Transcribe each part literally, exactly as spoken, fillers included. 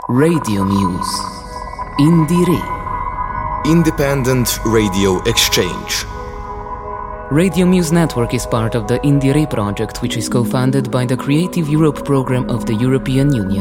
Radio Muse. Indire. Independent Radio Exchange. Radio Muse Network is part of the Indire project, which is co-funded by the Creative Europe program of the European Union.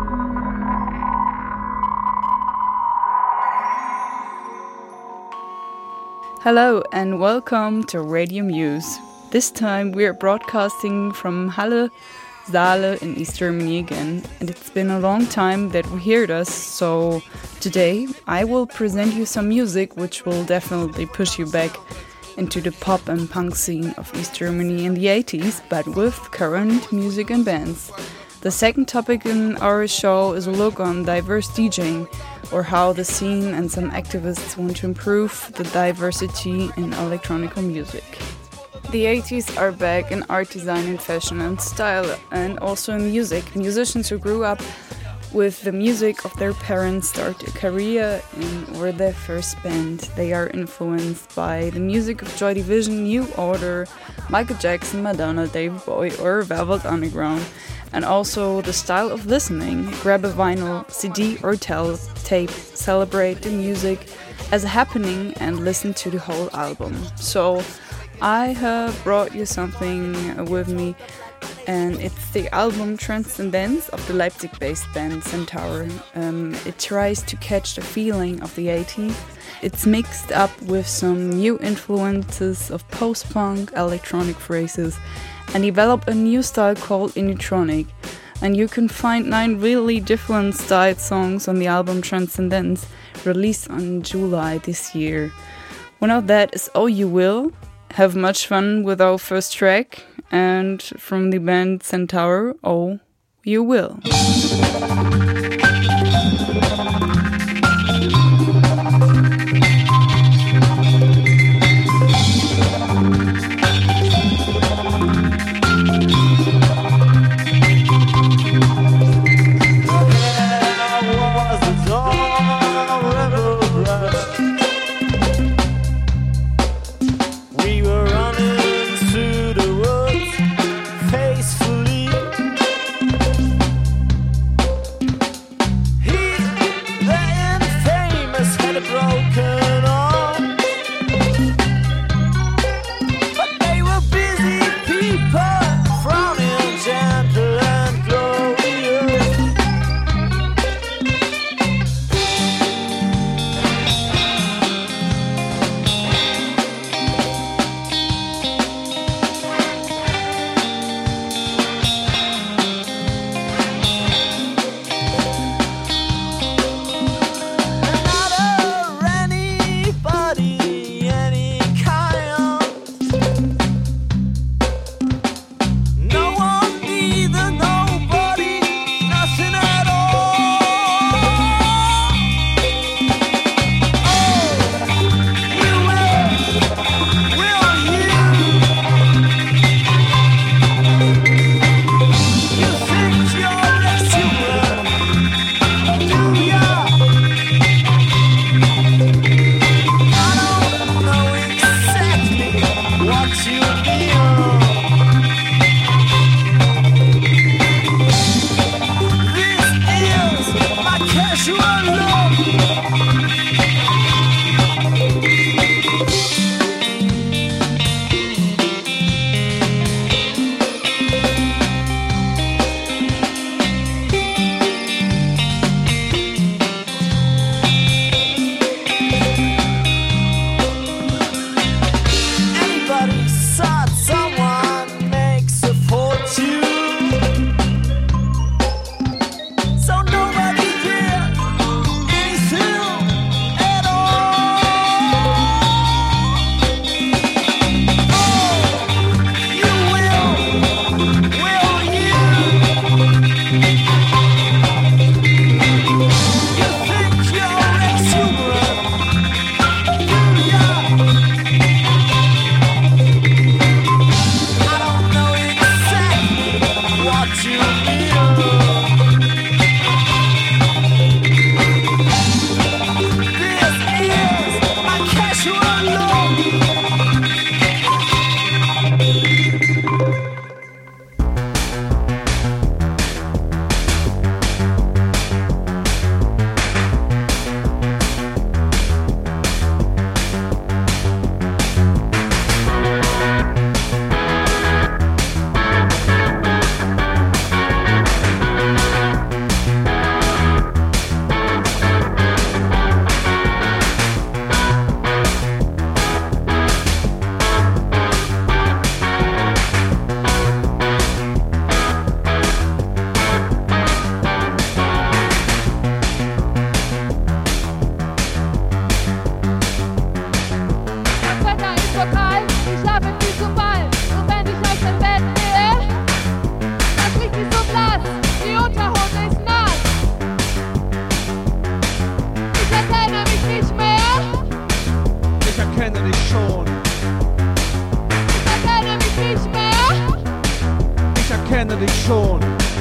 Hello and welcome to Radio Muse. This time we are broadcasting from Halle, Saale in East Germany again, and it's been a long time that we heard us, so today I will present you some music which will definitely push you back into the pop and punk scene of East Germany in the eighties, but with current music and bands. The second topic in our show is a look on diverse DJing, or how the scene and some activists want to improve the diversity in electronic music. The eighties are back in art design and fashion and style, and also in music. Musicians who grew up with the music of their parents start a career in or their first band. They are influenced by the music of Joy Division, New Order, Michael Jackson, Madonna, David Bowie or Velvet Underground, and also the style of listening. Grab a vinyl, C D or tel- tape, celebrate the music as a happening and listen to the whole album. So I have brought you something with me, and it's the album Transcendence of the Leipzig-based band Centaur. Um, it tries to catch the feeling of the eighties. It's mixed up with some new influences of post-punk, electronic phrases, and developed a new style called Inutronic. And you can find nine really different styled songs on the album Transcendence, released on July this year. One of that is Oh You Will. Have much fun with our first track, and from the band Centaur, Oh You Will. schon.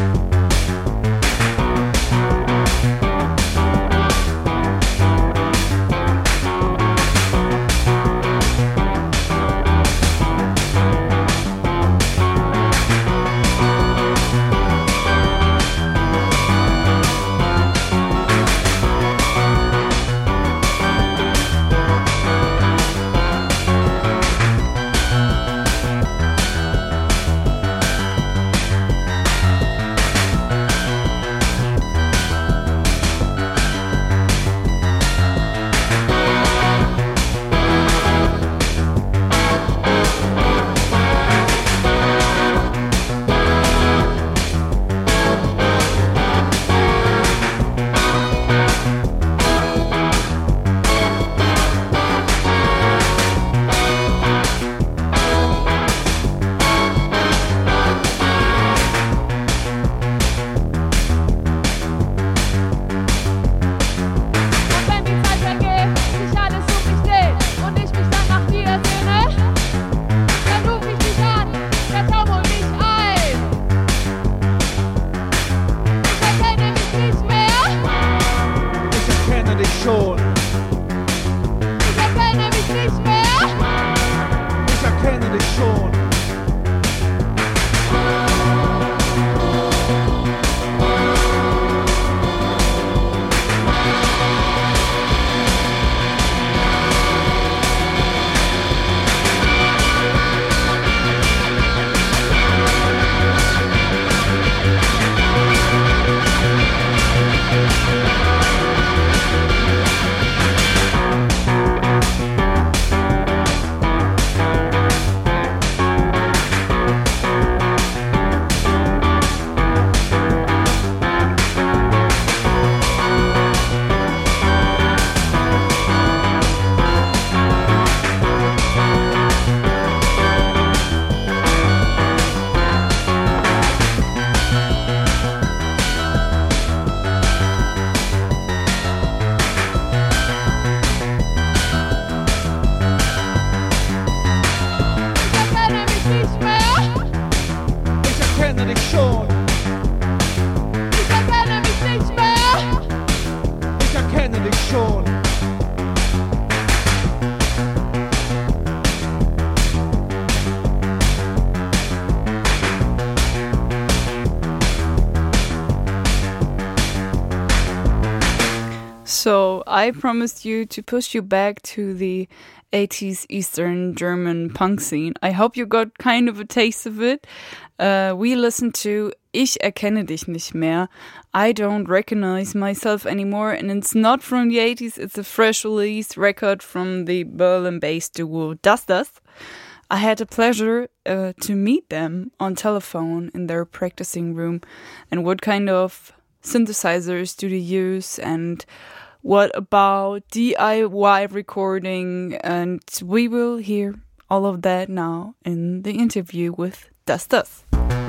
So I promised you to push you back to the eighties Eastern German punk scene. I hope you got kind of a taste of it. Uh, we listened to Ich erkenne dich nicht mehr. I don't recognize myself anymore, and it's not from the eighties. It's a fresh release record from the Berlin-based duo Das Das. I had the pleasure uh, to meet them on telephone in their practicing room, and what kind of synthesizers do they use, and what about D I Y recording, and we will hear all of that now in the interview with Das Das.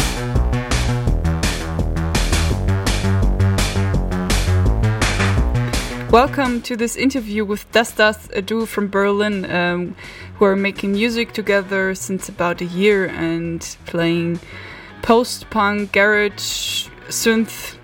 Welcome to this interview with Das Das, a duo from Berlin um, who are making music together since about a year and playing post-punk, garage, synth.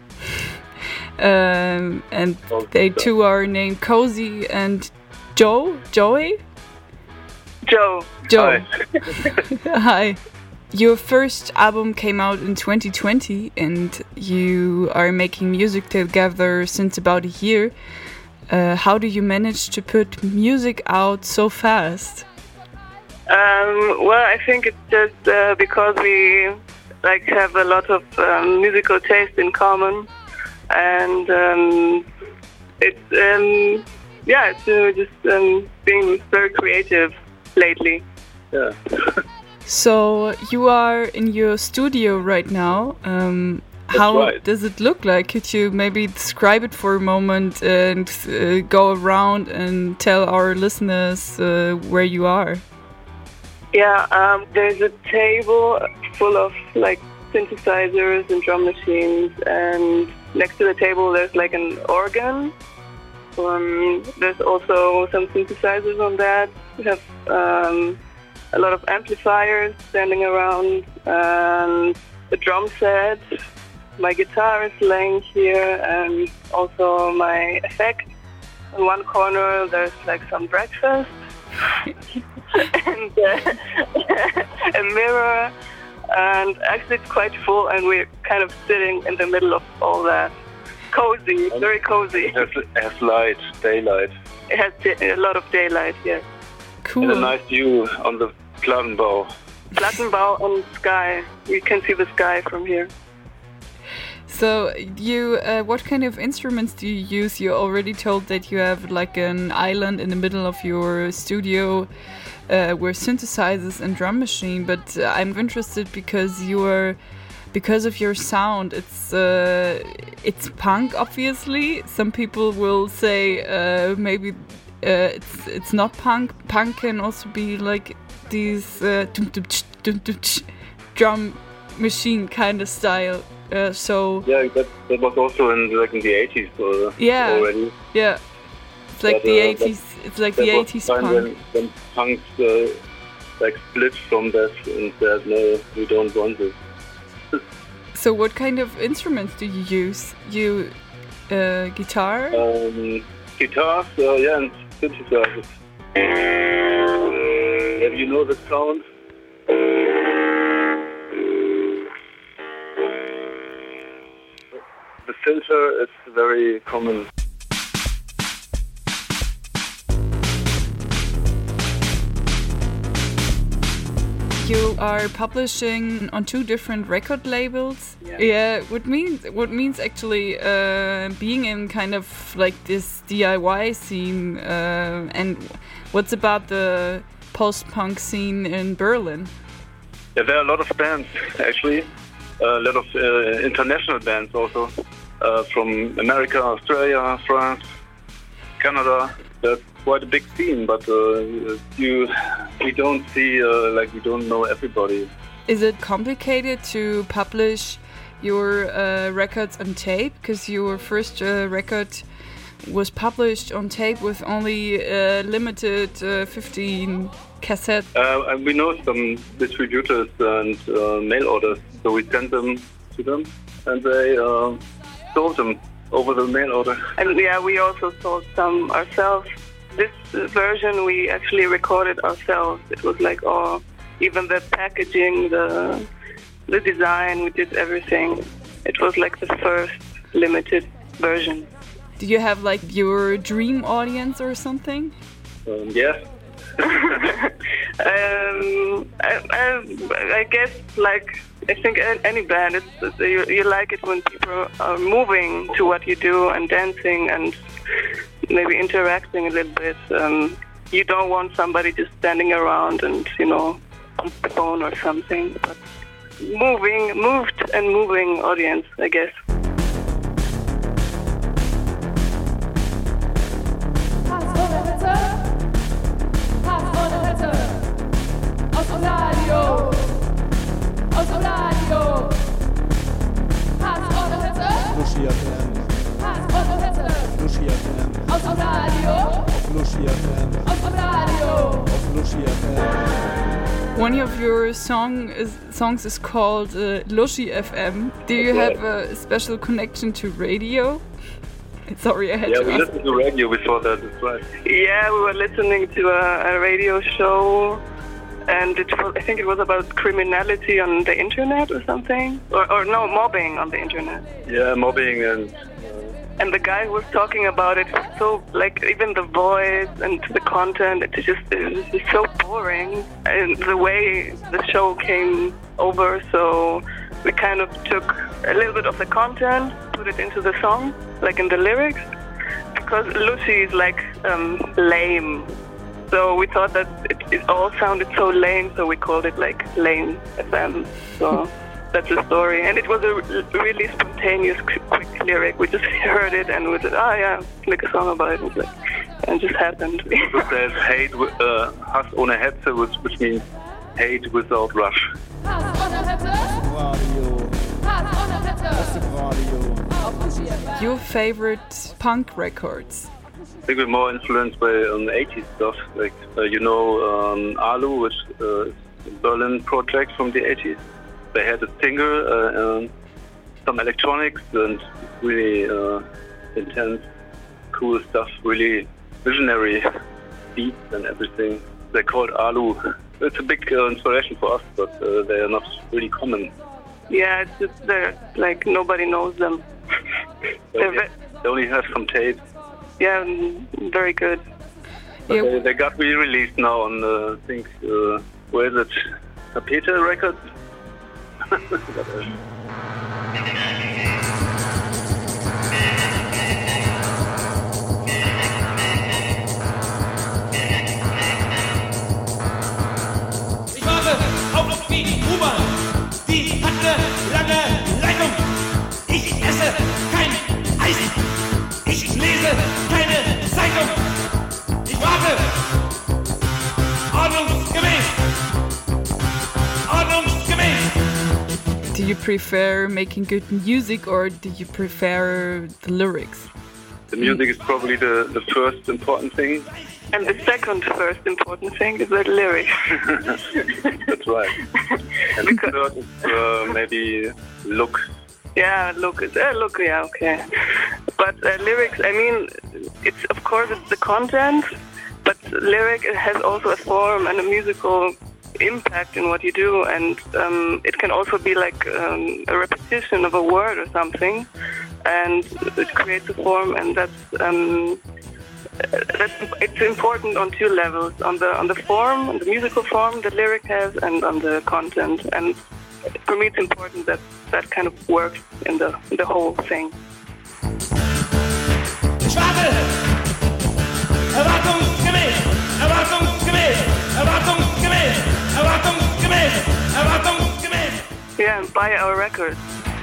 Um, and they too are named Cozy and Joe, Joey? Joe. Joe. Hi. Hi. Your first album came out in twenty twenty and you are making music together since about a year. Uh, how do you manage to put music out so fast? Um, well, I think it's just uh, because we like have a lot of um, musical taste in common. And um, it's, um, yeah, it's uh, just um, being very creative lately. Yeah. So you are in your studio right now. Um, how right. does it look like? Could you maybe describe it for a moment and uh, go around and tell our listeners uh, where you are? Yeah, um, there's a table full of like synthesizers and drum machines, and next to the table there's like an organ. Um, there's also some synthesizers on that. We have um, a lot of amplifiers standing around, and a drum set. My guitar is laying here, and also my effect. In one corner, there's like some breakfast and uh, a mirror. And actually, it's quite full, and we're kind of sitting in the middle of all that. Cozy, very cozy. It has, has light, daylight. It has a lot of daylight, yes. Cool. And a nice view on the Plattenbau. Plattenbau and sky. We can see the sky from here. So, you, uh, what kind of instruments do you use? You already told that you have like an island in the middle of your studio uh, with synthesizers and drum machine. But uh, I'm interested because you are, because of your sound. It's uh, it's punk, obviously. Some people will say uh, maybe uh, it's it's not punk. Punk can also be like these uh, drum machine kind of style. Uh, so yeah, that, that was also in like in the eighties uh, yeah, already. Yeah, it's like but, the uh, eighties. It's like the eighties punk. When, when punks uh, like split from that and said, no, we don't want this. So, what kind of instruments do you use? You uh, guitar? Um, guitars, uh, yeah, and synthesizers. Have you know the sound? The filter is very common. You are publishing on two different record labels. Yeah. Yeah. What means what means actually uh, being in kind of like this D I Y scene, uh, and what's about the post-punk scene in Berlin? Yeah, there are a lot of bands actually. A lot of uh, international bands also, uh, from America, Australia, France, Canada. That's quite a big scene, but uh, you we don't see uh, like we don't know everybody. Is it complicated to publish your uh, records on tape? Because your first uh, record was published on tape with only uh, limited uh, fifteen cassettes. Uh, and we know some distributors and uh, mail orders, so we sent them to them, and they uh, sold them over the mail order. And yeah, we also sold some ourselves. This version we actually recorded ourselves. It was like all, even the packaging, the the design, we did everything. It was like the first limited version. Do you have like your dream audience or something? Um, yes. um, I, I, I guess like I think any band, it's, you, you like it when people are moving to what you do and dancing and maybe interacting a little bit. Um, you don't want somebody just standing around and, you know, on the phone or something. But moving, moved and moving audience, I guess. Lucia F M. Lucia F M. Lucia F M. Lucia F M. One of your song is, songs is called uh, Lushi F M. Do you That's have a special connection to radio? Sorry, I had yeah, to we ask. listened to radio before that, that's right. Yeah, we were listening to a, a radio show, and it was, I think it was about criminality on the internet or something, or, or no, mobbing on the internet. Yeah, mobbing and. And the guy who was talking about it was so, like, even the voice and the content, it's just, it was just so boring. And the way the show came over, so we kind of took a little bit of the content, put it into the song, like in the lyrics, because Lucy is like um, lame. So we thought that it, it all sounded so lame, so we called it like Lame F M. So that's the story. And it was a really spontaneous, quick lyric. We just heard it and we said, oh yeah, make a song about it. And, like, and it just happened. There's hate, uh, Hass ohne Hetze, which, which means hate without rush. Your favorite punk records? I think we're more influenced by um, eighties stuff, like uh, you know um, Alu, which uh, is a Berlin project from the eighties. they had a single, uh, um, some electronics and really uh, intense, cool stuff, really visionary beats and everything. They're called Alu. It's a big uh, inspiration for us, but uh, they are not really common. Yeah, it's just they're like nobody knows them. They only, they only have some tapes. Yeah, very good. But Yeah. they, they got re-released now on, uh, I think, uh, where is it? Tapete Records? Ich warte auf die U-Bahn, die hat eine lange Leitung. Ich esse kein Eis, ich lese keine Zeitung. Ich warte ordnungsgemäß, ordnungsgemäß. Do you prefer making good music or do you prefer the lyrics? The music is probably the, the first important thing. And the second first important thing is the lyrics. That's right. And the third is uh, maybe look. Yeah, look, uh, look, yeah, okay. But uh, lyrics, I mean, it's of course it's the content, but lyric has also a form and a musical impact in what you do, and um, it can also be like um, a repetition of a word or something, and it creates a form, and that's um, that's it's important on two levels: on the on the form, on the musical form the lyric has, and on the content. And for me, it's important that that kind of works in the in the whole thing. Ich warte erwartungsgemäß, erwartungsgemäß, erwartungsgemäß, erwartungsgemäß, erwartungsgemäß. Yeah, and buy our records.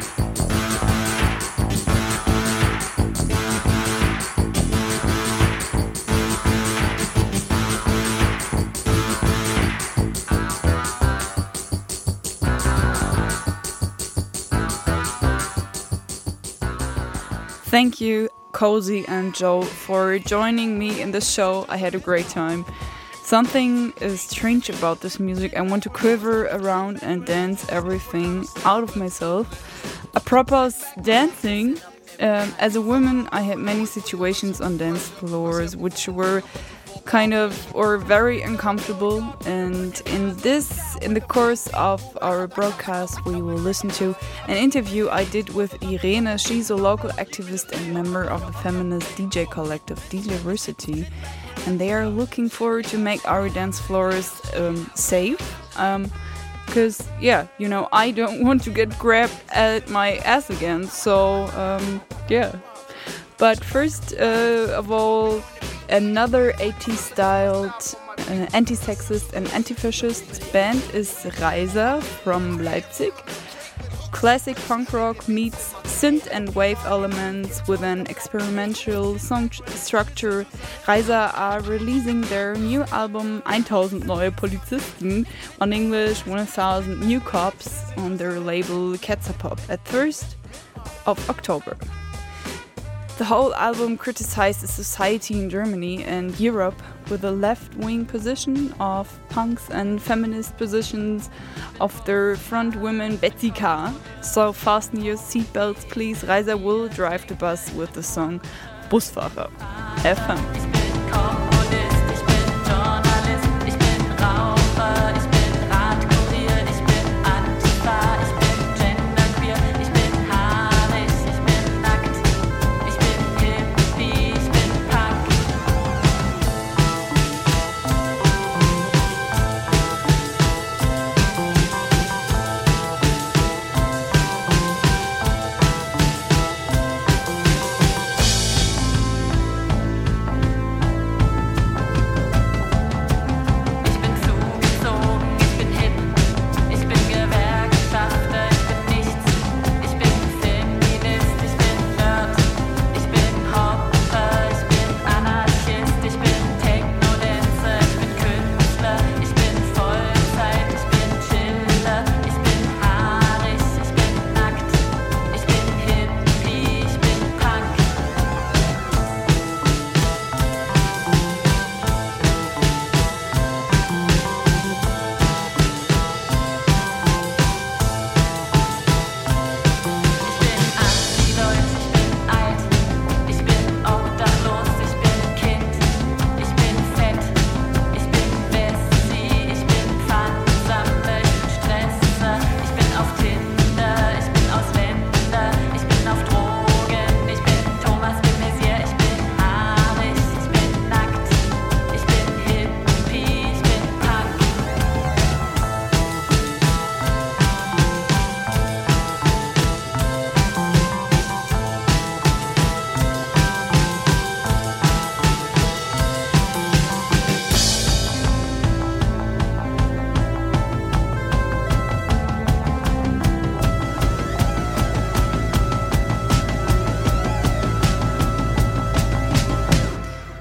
Thank you, Cozy and Joe, for joining me in the show. I had a great time. Something is strange about this music. I want to quiver around and dance everything out of myself. Apropos dancing, um, as a woman, I had many situations on dance floors which were kind of or very uncomfortable, and in this in the course of our broadcast we will listen to an interview I did with Irene. She's a local activist and member of the feminist D J collective Diversity, and they are looking forward to make our dance floors um, safe, um, because yeah, you know, I don't want to get grabbed at my ass again, so um, yeah. But first uh, of all, another eighties-styled uh, anti-sexist and anti-fascist band is Reiser from Leipzig. Classic punk rock meets synth and wave elements with an experimental song structure. Reiser are releasing their new album one thousand Neue Polizisten, on English one thousand New Cops, on their label Ketzerpop at first of October. The whole album criticized the society in Germany and Europe with a left-wing position of punks and feminist positions of their front woman Betsy K. So fasten your seatbelts, please. Reiser will drive the bus with the song Busfahrer. Have fun.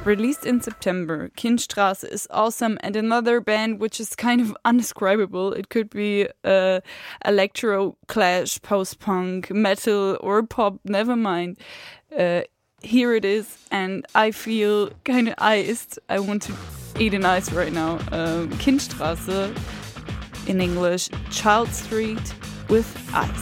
Released in September, Kindstraße is awesome, and another band which is kind of undescribable. It could be uh, electro, clash, post-punk, metal, or pop, never mind. Uh, here it is, and I feel kind of iced. I want to eat an ice right now. Um, Kindstraße, in English, Child Street with Ice.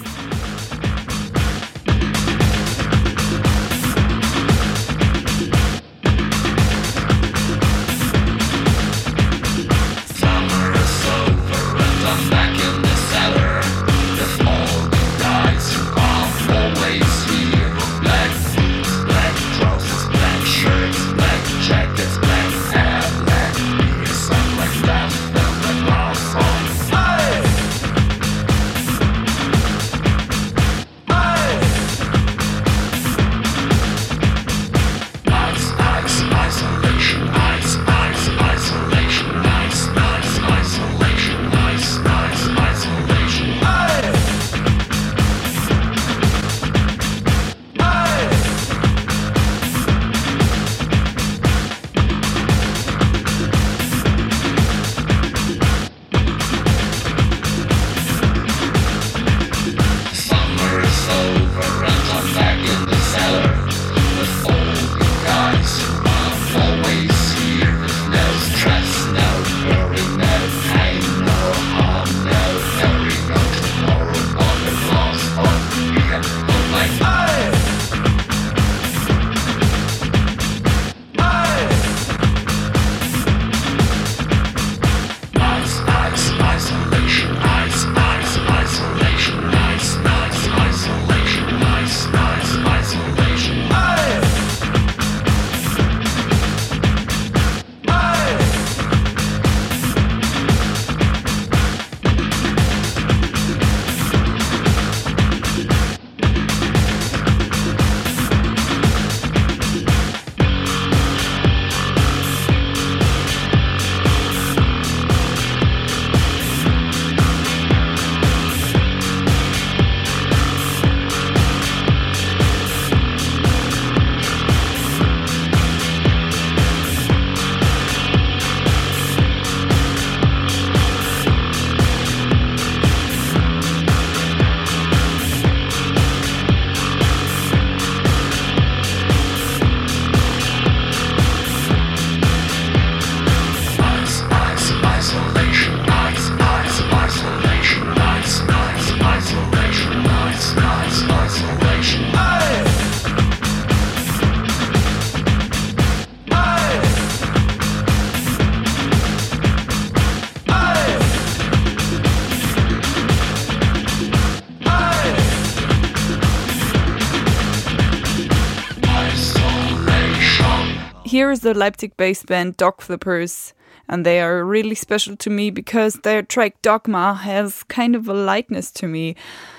Here is the Leipzig-based band Dog Flippers, and they are really special to me because their track Dogma has kind of a lightness to me,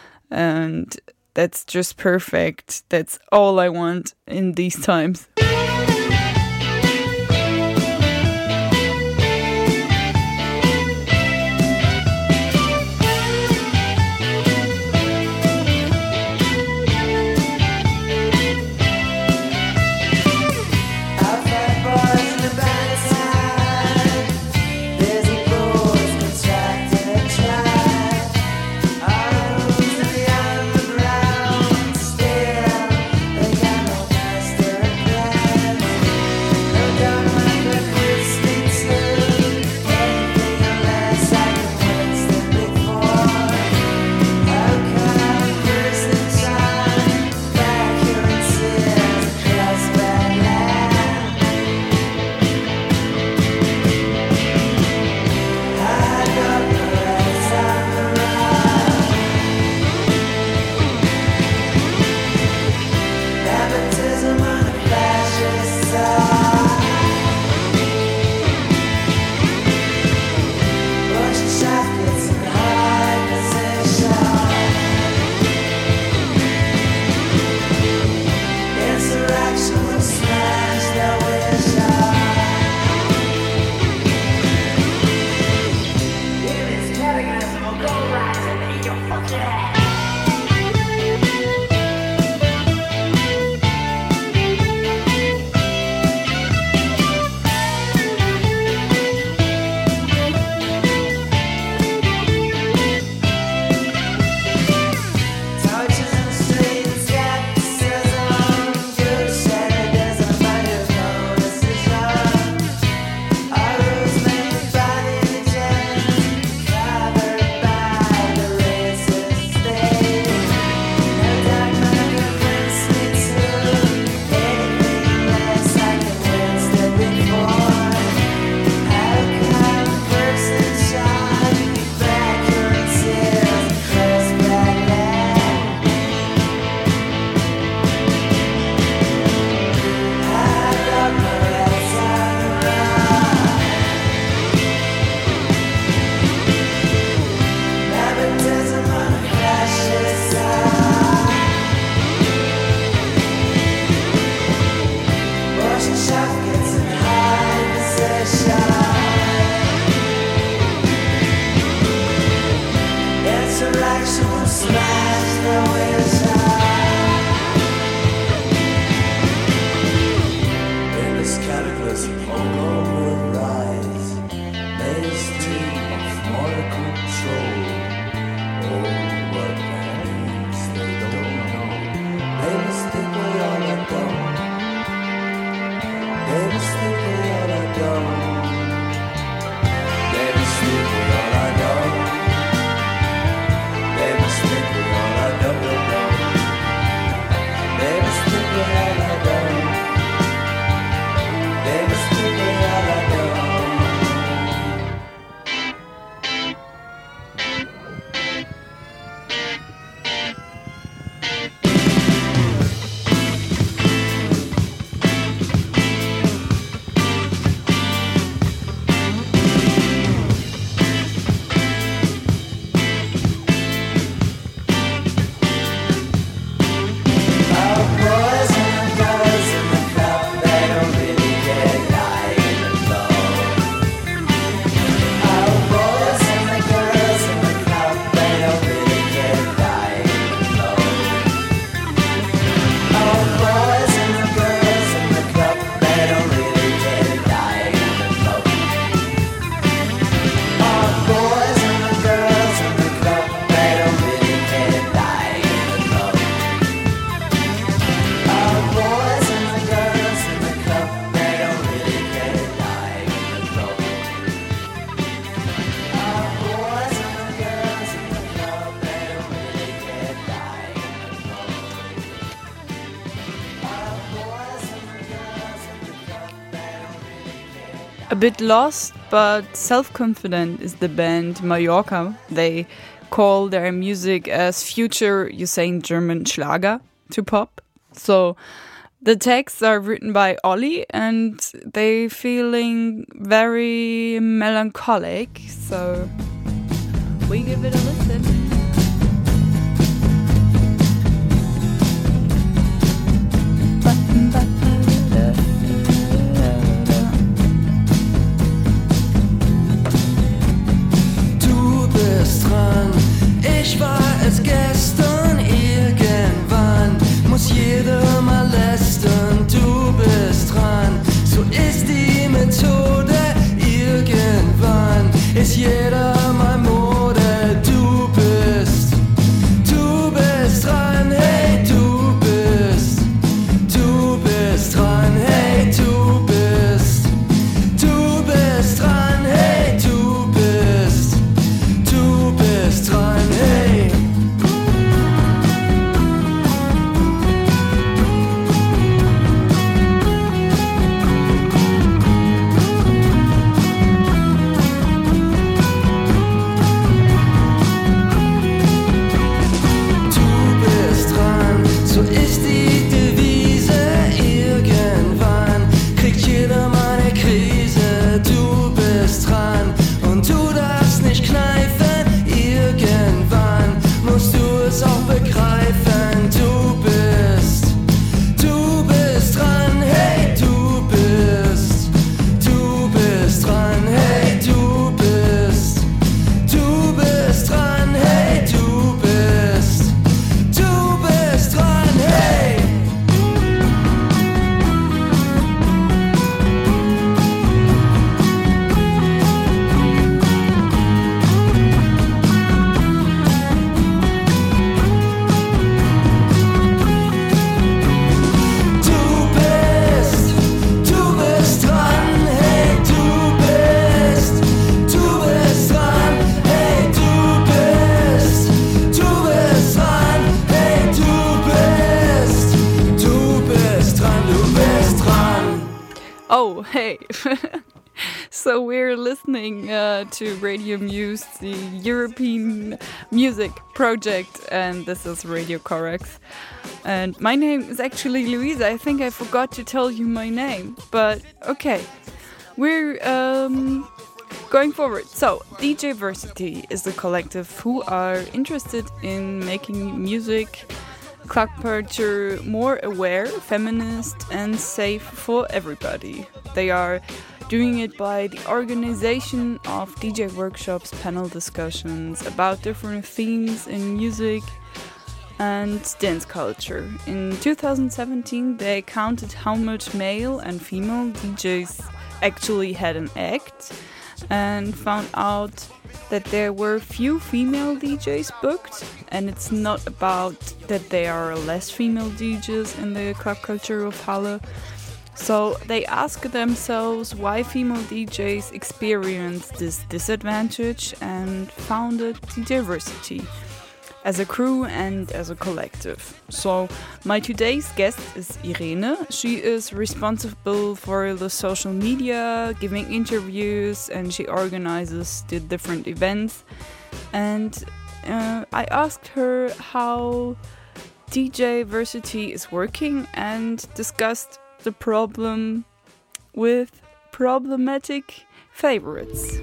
and that's just perfect. That's all I want in these times. Yeah. A bit lost but self-confident is the band Mallorca. They call their music as future Usain German Schlager to pop. So the texts are written by Olli and they feeling very melancholic. So we give it a listen. Du bist dran, ich war es gestern, irgendwann muss jeder mal lästern. Du bist dran, so ist die Methode, irgendwann ist jeder mal Mode. Du bist, du bist dran, hey, du bist, du bist dran, hey, du bist, du bist dran, hey, du bist, du bist dran, hey. So ist die Devise, irgendwann kriegt jeder mal eine Krise. Du bist dran und du darfst nicht kneifen, irgendwann musst du es auch begreifen. Du bist, du bist dran, hey, du bist, du bist dran, hey, du bist, du bist dran, hey, du bist, du bist dran. Hey! Du bist, du bist dran, hey, du bist, du bist dran, hey, du bist, du bist dran, hey, du bist, du bist dran, du bist dran. Oh, hey. So we're listening uh, to Radio Muse, the European music project, and this is Radio Corax. And my name is actually Luisa. I think I forgot to tell you my name, but okay. We're um, going forward. So, D J Versity is a collective who are interested in making music club culture more aware, feminist, and safe for everybody. They are doing it by the organization of D J workshops, panel discussions about different themes in music and dance culture. In two thousand seventeen, they counted how much male and female D Js actually had an act and found out that there were few female D Js booked, and it's not about that there are less female D Js in the club culture of Halle. So they ask themselves why female D Js experience this disadvantage and founded D J Versity as a crew and as a collective. So my today's guest is Irene. She is responsible for the social media, giving interviews, and she organizes the different events. And uh, I asked her how D J Versity is working and discussed the problem with problematic favorites.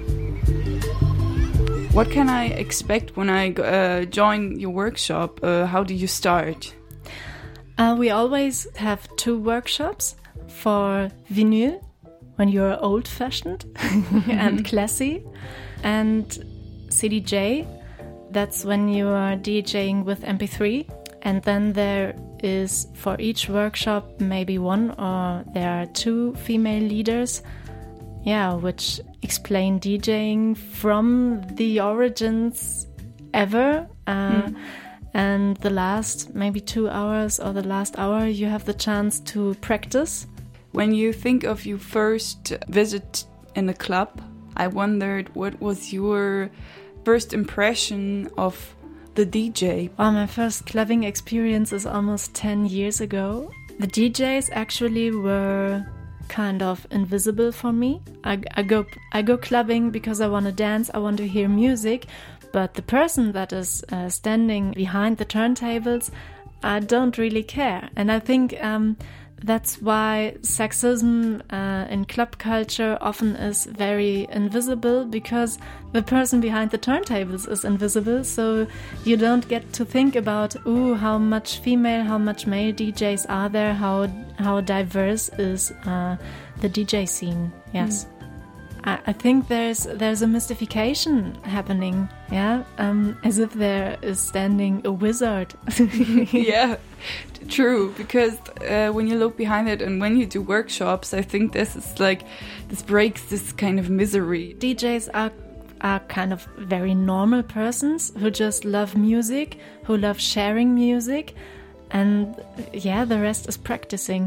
What can I expect when I uh, join your workshop? Uh, how do you start? Uh, we always have two workshops for vinyl, when you're old-fashioned and classy, and C D J, that's when you are DJing with M P three. And then there is, for each workshop, maybe one or there are two female leaders, yeah, which explain DJing from the origins ever. Uh, mm. And the last maybe two hours or the last hour, you have the chance to practice. When you think of your first visit in a club, I wondered what was your first impression of the D J? Well, my first clubbing experience is almost ten years ago. The D Js actually were kind of invisible for me. I, I go I go clubbing because I want to dance, I want to hear music, but the person that is uh, standing behind the turntables, I don't really care. And I think um, that's why sexism uh, in club culture often is very invisible, because the person behind the turntables is invisible, so you don't get to think about, ooh, how much female, how much male D Js are there, how how diverse is uh, the D J scene. Yes. Mm. I, I think there's there's a mystification happening, yeah, um, as if there is standing a wizard. Yeah. True, because uh, when you look behind it and when you do workshops, I think this is like, this breaks this kind of misery. D Js are are kind of very normal persons who just love music, who love sharing music, and yeah, the rest is practicing.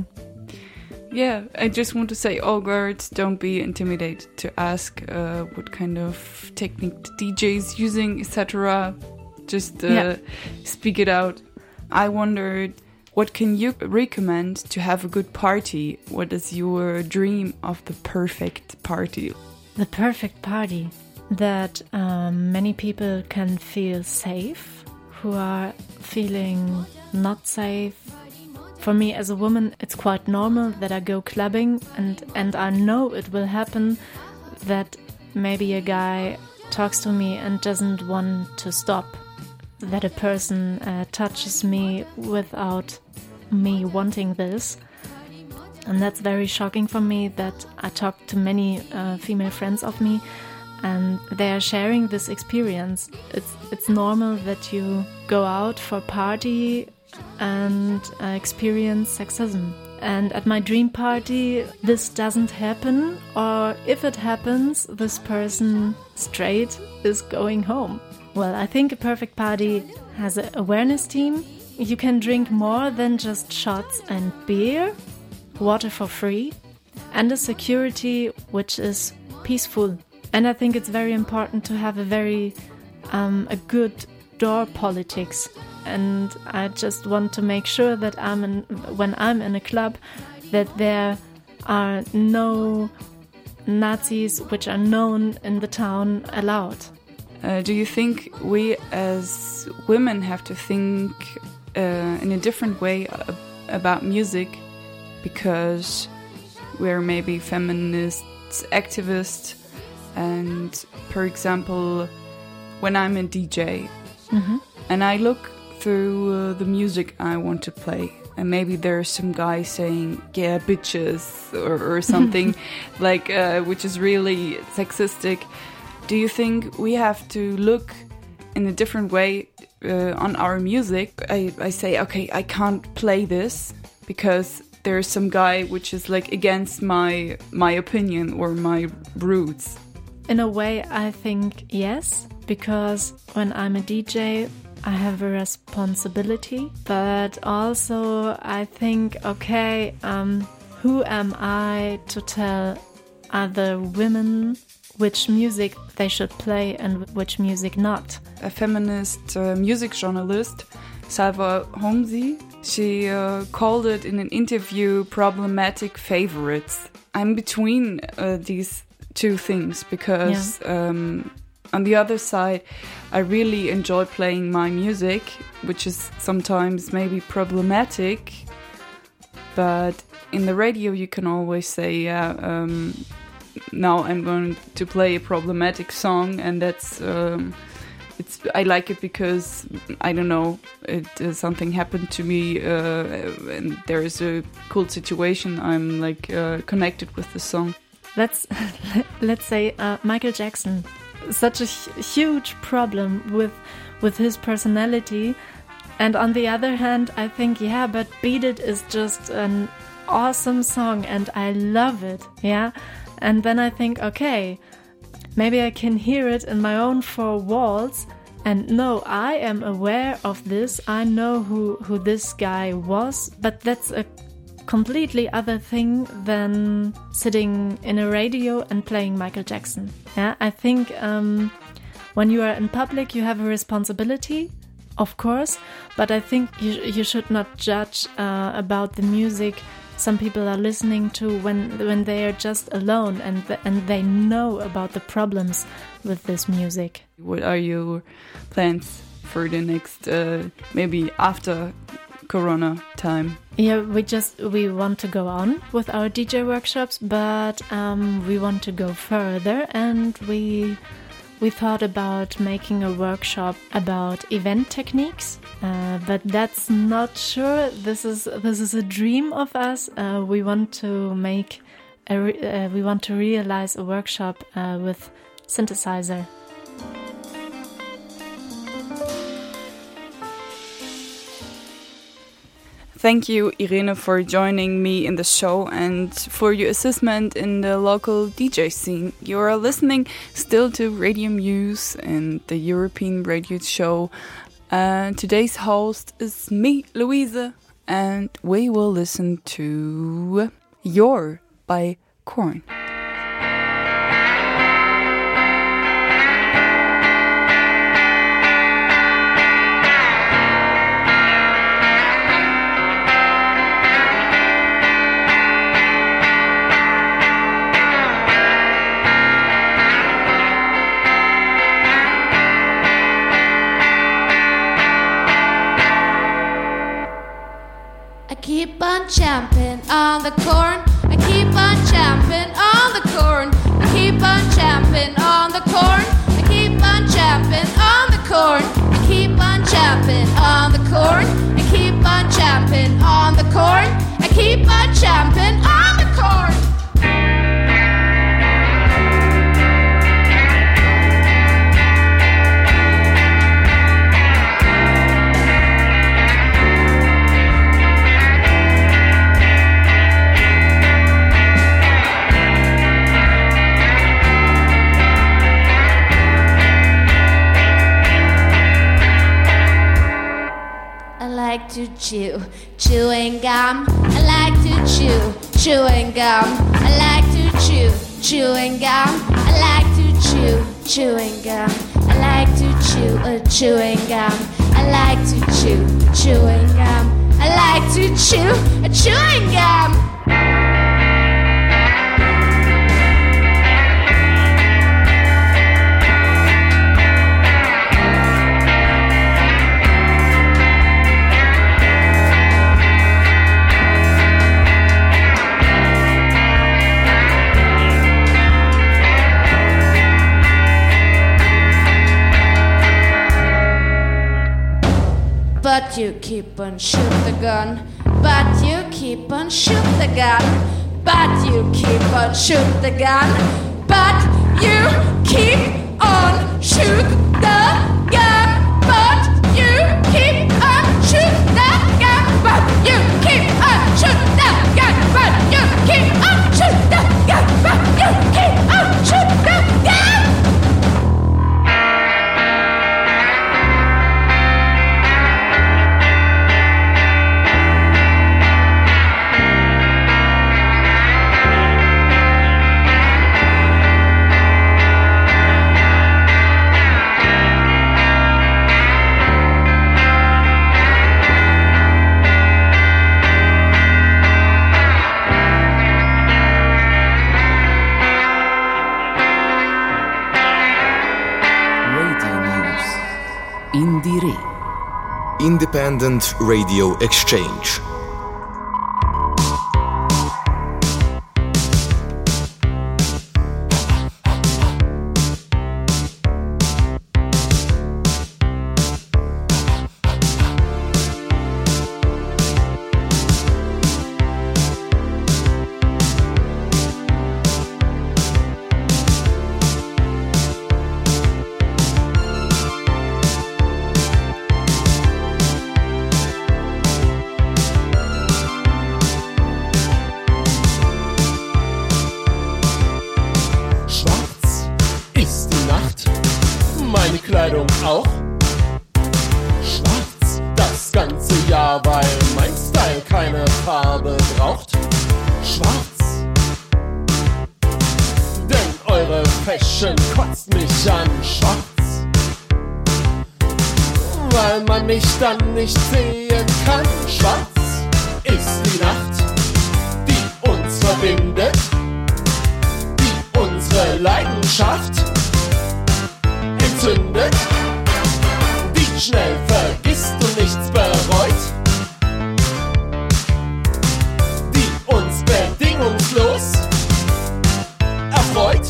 Yeah, I just want to say, all girls, don't be intimidated to ask uh, what kind of technique the D J is using, et cetera. Just uh, yeah. speak it out. I wondered, what can you recommend to have a good party? What is your dream of the perfect party? The perfect party that um, many people can feel safe, who are feeling not safe. For me as a woman, it's quite normal that I go clubbing and, and I know it will happen that maybe a guy talks to me and doesn't want to stop. That a person uh, touches me without me wanting this. And that's very shocking for me, that I talk to many uh, female friends of me and they are sharing this experience. It's it's normal that you go out for party and uh, experience sexism. And at my dream party, this doesn't happen, or if it happens, this person straight is going home. Well, I think a perfect party has an awareness team. You can drink more than just shots and beer, water for free, and a security which is peaceful. And I think it's very important to have a very um, a good door politics. And I just want to make sure that I'm in, when I'm in a club, that there are no Nazis which are known in the town allowed. Uh, do you think we as women have to think uh, in a different way uh, about music because we're maybe feminists, activists, and for example, when I'm a D J mm-hmm. and I look through uh, the music I want to play, and maybe there's some guy saying, yeah, bitches, or, or something like, uh, which is really sexistic. Do you think we have to look in a different way uh, on our music? I, I say, okay, I can't play this because there's some guy which is like against my my opinion or my roots. In a way, I think yes, because when I'm a D J, I have a responsibility, but also I think, okay, um, who am I to tell other women which music they should play and which music not? A feminist uh, music journalist, Salva Homsi, she uh, called it in an interview problematic favorites. I'm between uh, these two things because yeah. um, on the other side, I really enjoy playing my music, which is sometimes maybe problematic, but in the radio you can always say, yeah, um, now I'm going to play a problematic song, and that's um, it's I like it because I don't know, it uh, something happened to me uh, and there is a cool situation. I'm like uh, connected with the song. Let's let's say uh, Michael Jackson, such a huge problem with with his personality, and on the other hand, I think yeah, but Beat It is just an awesome song, and I love it. Yeah. And then I think, okay, maybe I can hear it in my own four walls. And no, I am aware of this. I know who, who this guy was. But that's a completely other thing than sitting in a radio and playing Michael Jackson. Yeah, I think um, when you are in public, you have a responsibility, of course. But I think you, you should not judge uh, about the music some people are listening to when when they are just alone and th- and they know about the problems with this music. What are your plans for the next, uh, maybe after Corona time? Yeah, we just we want to go on with our D J workshops, but um, we want to go further, and we we thought about making a workshop about event techniques, uh, but that's not sure. This is this is a dream of us. Uh, we want to make a re- uh, we want to realize a workshop uh, with synthesizer. Thank you, Irene, for joining me in the show and for your assessment in the local D J scene. You are listening still to Radio Muse and the European radio show. Uh, today's host is me, Louise, and we will listen to Your by Korn. Keep on champing on the corn. I keep on champing on the corn. I keep on champing on the corn. I keep on champing on the corn. I keep on champing on the corn. I keep on champing on the corn. I keep on champing on the corn. I like to chew chewing gum. I like to chew chewing gum. I like to chew chewing gum. I like to chew chewing gum. I like to chew a chewing gum. I like to chew chewing gum. I like to chew a chewing gum. But you keep on shoot the gun. But you keep on shoot the gun. But you keep on shoot the gun. But you keep on shoot the gun. But you keep on shoot the gun. But you keep on shoot the gun. But you keep on shoot the gun. But you keep on shoot the gun. Independent Radio Exchange. Kleidung auch schwarz das ganze Jahr, weil mein Style keine Farbe braucht. Schwarz, denn eure Fashion kotzt mich an. Schwarz, weil man mich dann nicht sehen kann. Schwarz ist die Nacht, Leidenschaft entzündet, die schnell vergisst und nichts bereut, die uns bedingungslos erfreut.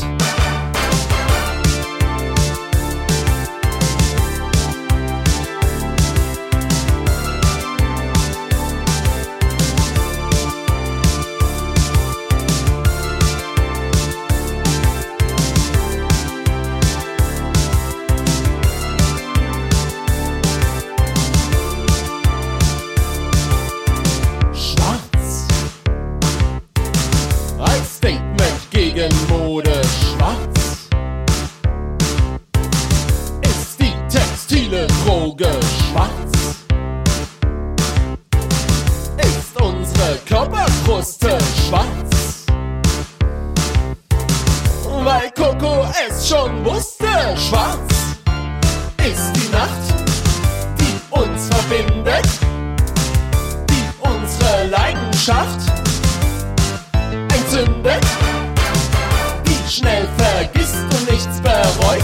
Gegen Mode schwarz ist die textile Droge schwarz, ist unsere Körperkruste schwarz, weil Coco es schon wusste. Schwarz ist die Nacht, die uns verbindet, die unsere Leidenschaft entzündet, schnell vergisst und nichts bereut,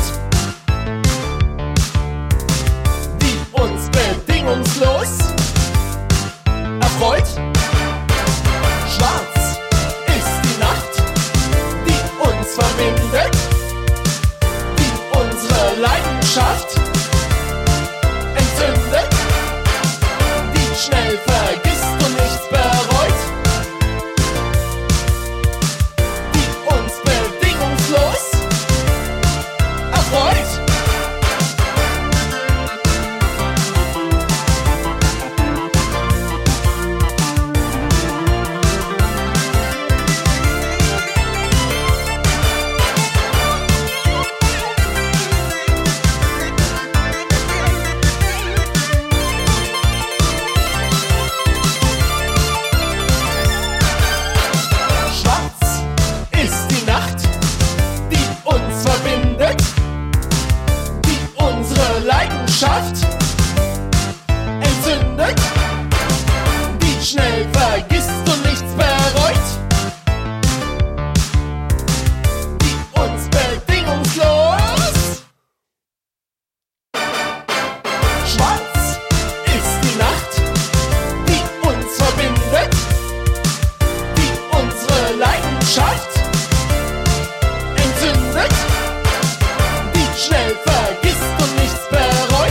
die uns bedingungslos erfreut. Schwarz ist die Nacht, die uns verbindet, die unsere Leidenschaft entzündet, die schnell vergisst und nichts bereut, die uns bedingungslos erfreut. Leidenschaft entzündet, die schnell vergisst und nichts bereut, die uns bedingungslos. Schwarz ist die Nacht, die uns verbindet, die unsere Leidenschaft entzündet, die schnell vergisst und nichts bereut,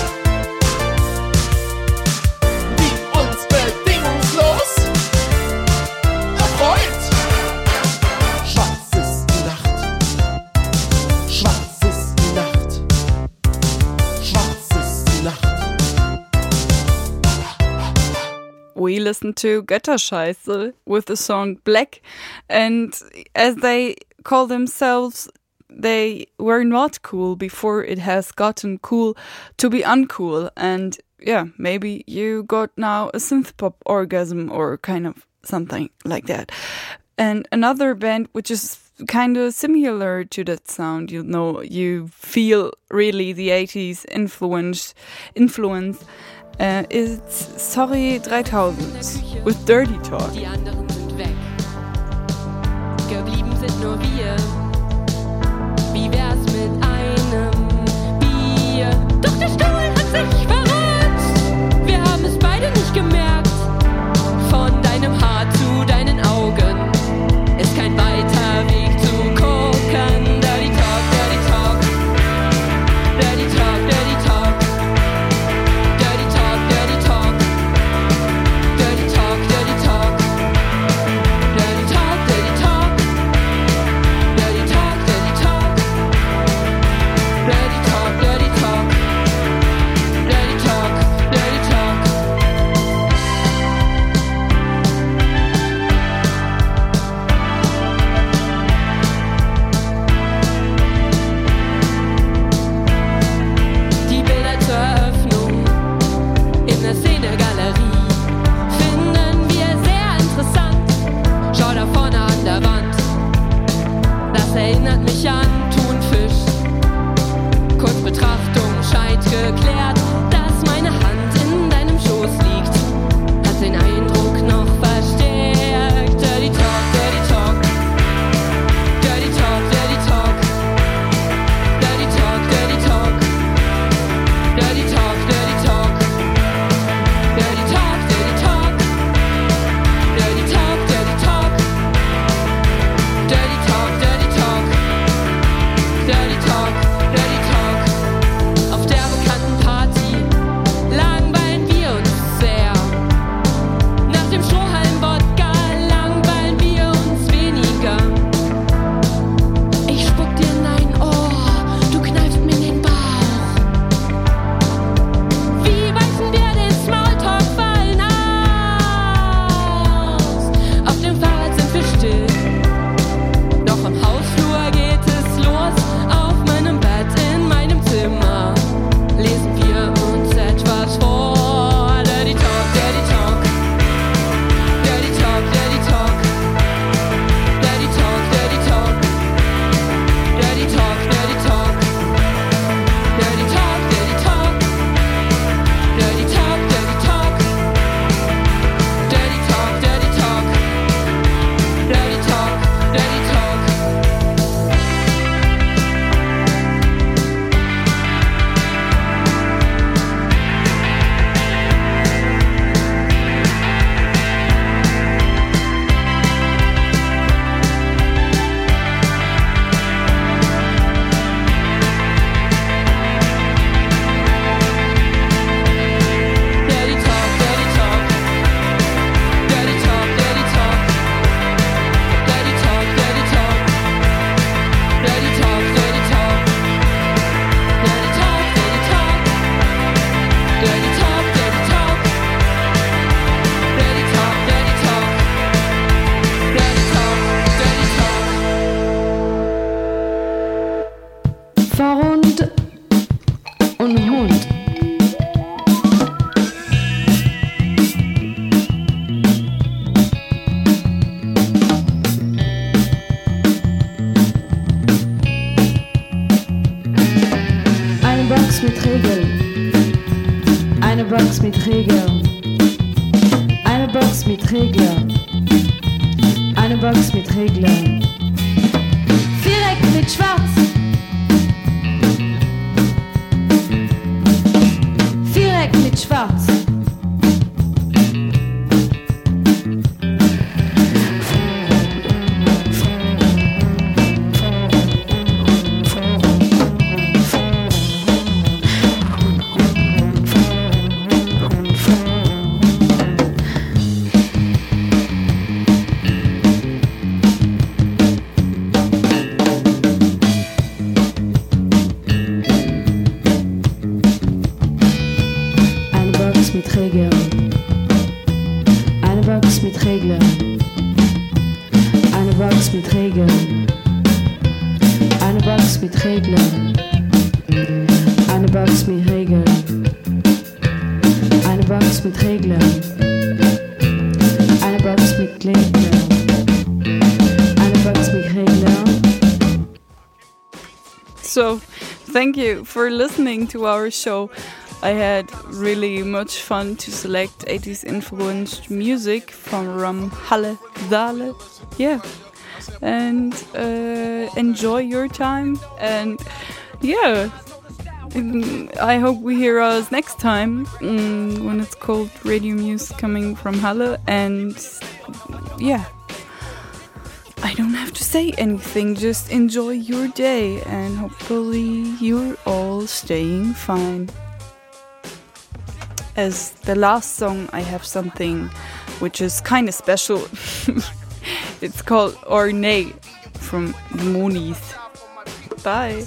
die uns bedingungslos erfreut. Schwarz ist die Nacht, schwarz ist die Nacht, schwarz ist die Nacht. We listened to Götterscheiße with the song Black, and as they call themselves, they were not cool before it has gotten cool to be uncool. And yeah, maybe you got now a synth pop orgasm or kind of something like that. And another band which is kind of similar to that sound, you know, you feel really the eighties influence influence uh, is Sorry dreitausend with Dirty Talk. Die anderen sind weg. Geblieben sind nur wir. Wie wär's mit einem Bier? Doch der Stuhl hat sich verrückt. Wir haben es beide nicht gemerkt. Von deinem Haar zu deinen Augen ist kein weiter Weg zu gucken. Dirty Talk, Dirty Talk. Dirty Talk, Dirty Talk. Dirty Talk, Dirty Talk. Dirty Talk, Dirty Talk. Dirty Talk, Dirty Talk. Dirty Talk, Dirty Talk. Dirty Talk, Dirty Talk. Dirty Talk, Dirty Talk. Die Bilder zur Eröffnung in der Szenegalerie finden wir sehr interessant. Schau da vorne an der Wand, das erinnert mich an Thunfisch. Kurz Betrachtung scheint geklärt, dass meine Hand in deinem Schoß liegt. Hat den Eindruck noch verstärkt. Dirty Talk, Dirty Talk. Dirty Talk, Dirty Talk. Box mit Regeln. Eine Box mit Regeln. Eine Box mit Regeln. Viereck mit Schwarz. Viereck mit Schwarz. Mit Regeln. Eine Box mit Regeln. Eine Box mit Regeln. Eine Box mit Regeln. Eine Box mit Regeln. Eine Box mit Regeln. Eine Box mit Regeln. Eine Box mit Regeln. So, thank you for listening to our show. I had really much fun to select eighties influenced music from Halle, Saale, yeah, and uh, enjoy your time, and yeah, I hope we hear us next time um, when it's called Radio Muse coming from Halle, and yeah, I don't have to say anything, just enjoy your day, and hopefully you're all staying fine. As the last song, I have something which is kind of special. It's called Ornate from the Monies. Bye.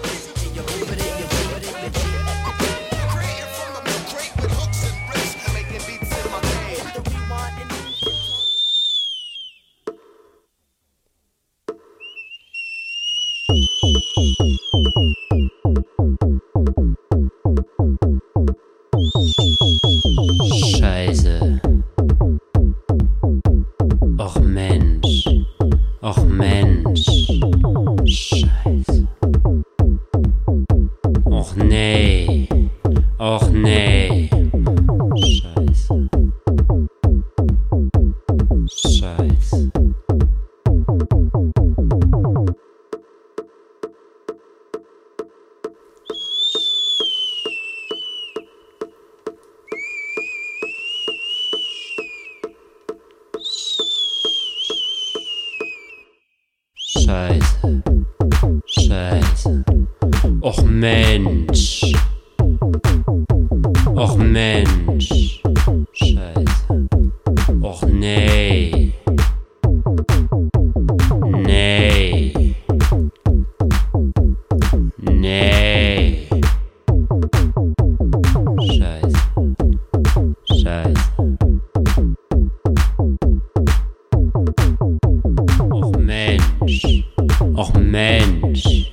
Scheiße. Och Mensch. Och Mensch. Scheiße. Och nee. Och nee. Scheiße. Scheiße. Scheiße, Scheiße, och Mensch, och Mensch, Scheiße, och nee, nee, nee, Scheiße, Scheiße. Och Mensch, och Mensch.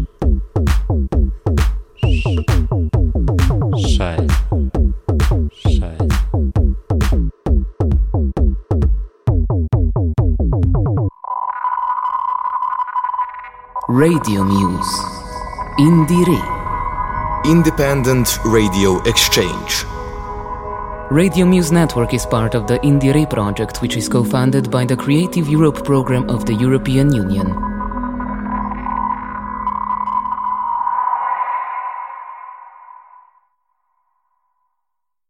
Scheiße, Scheiße. Radio Muse. Indire. Independent Radio Exchange. Radio Muse Network is part of the Indire project, which is co-funded by the Creative Europe program of the European Union.